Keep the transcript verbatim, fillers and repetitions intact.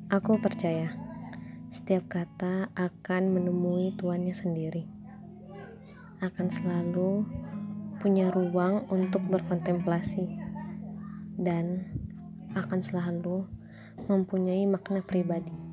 Aku percaya, setiap kata akan menemui tuannya sendiri, akan selalu punya ruang untuk berkontemplasi, dan akan selalu mempunyai makna pribadi.